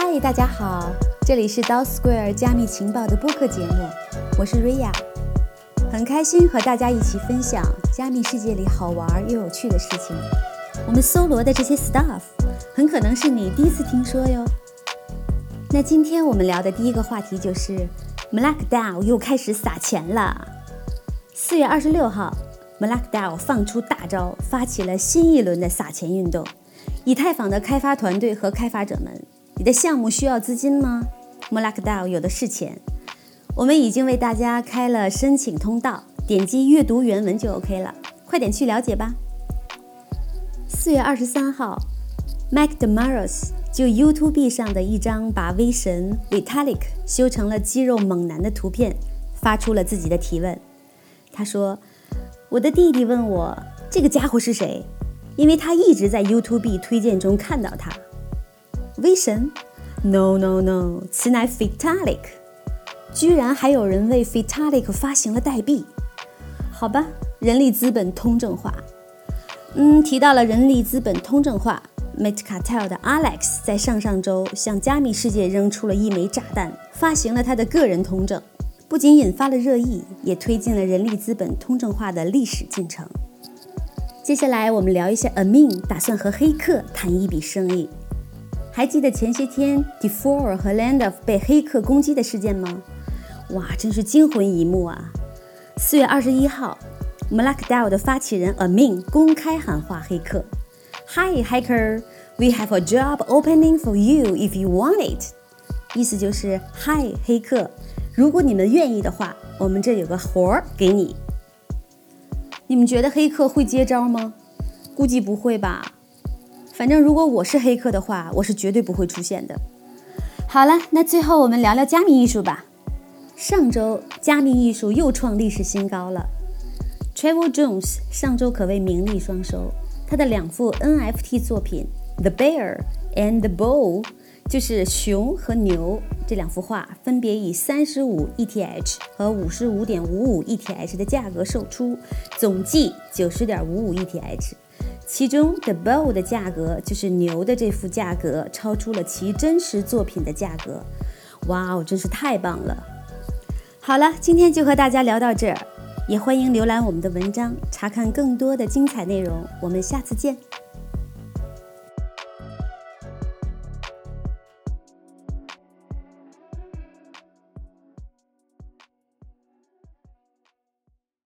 嗨，大家好，这里是 DAO Square 加密情报的播客节目，我是 Ria， 很开心和大家一起分享加密世界里好玩又有趣的事情。我们搜罗的这些 stuff 很可能是你第一次听说哟。那今天我们聊的第一个话题就是 MLK DAO 又开始撒钱了。4月26号 MLK DAO 放出大招，发起了新一轮的撒钱运动。以太坊的开发团队和开发者们，你的项目需要资金吗？ MLK DAO 有的是钱。我们已经为大家开了申请通道，点击阅读原文就 OK 了，快点去了解吧。4月23号 Mike Demarais 就 YouTube 上的一张把威神 Vitalik 修成了肌肉猛男的图片发出了自己的提问。他说，我的弟弟问我这个家伙是谁，因为他一直在 YouTube 推荐中看到他。威神 No， 此乃 Vitalik， 居然还有人为 Vitalik 发行了代币。好吧，人力资本通证化。提到了人力资本通证化， Metcartel 的 Alex 在上周向加密世界扔出了一枚炸弹，发行了他的个人通证，不仅引发了热议，也推进了人力资本通证化的历史进程。接下来我们聊一下 Amin 打算和黑客谈一笔生意。还记得前些天 Defor 和 Landov 被黑客攻击的事件吗？哇，真是惊魂一幕啊。4月21号 MLK DAO 的发起人 Amin 公开喊话黑客， Hi hacker, we have a job opening for you if you want it。 意思就是嗨黑客，如果你们愿意的话，我们这有个活儿给你。你们觉得黑客会接招吗？估计不会吧。反正如果我是黑客的话，我是绝对不会出现的。好了，那最后我们聊聊加密艺术吧。上周加密艺术又创历史新高了。Trevor Jones 上周可谓名利双收，他的2幅 NFT 作品 The Bear and the Bull， 就是熊和牛，这2幅画分别以35 ETH 和 55.55 ETH 的价格售出，总计 90.55 ETH。其中 The Bull 的价格，就是牛的这幅价格，超出了其真实作品的价格。哇哦，真是太棒了。好了，今天就和大家聊到这儿，也欢迎浏览我们的文章，查看更多的精彩内容。我们下次见。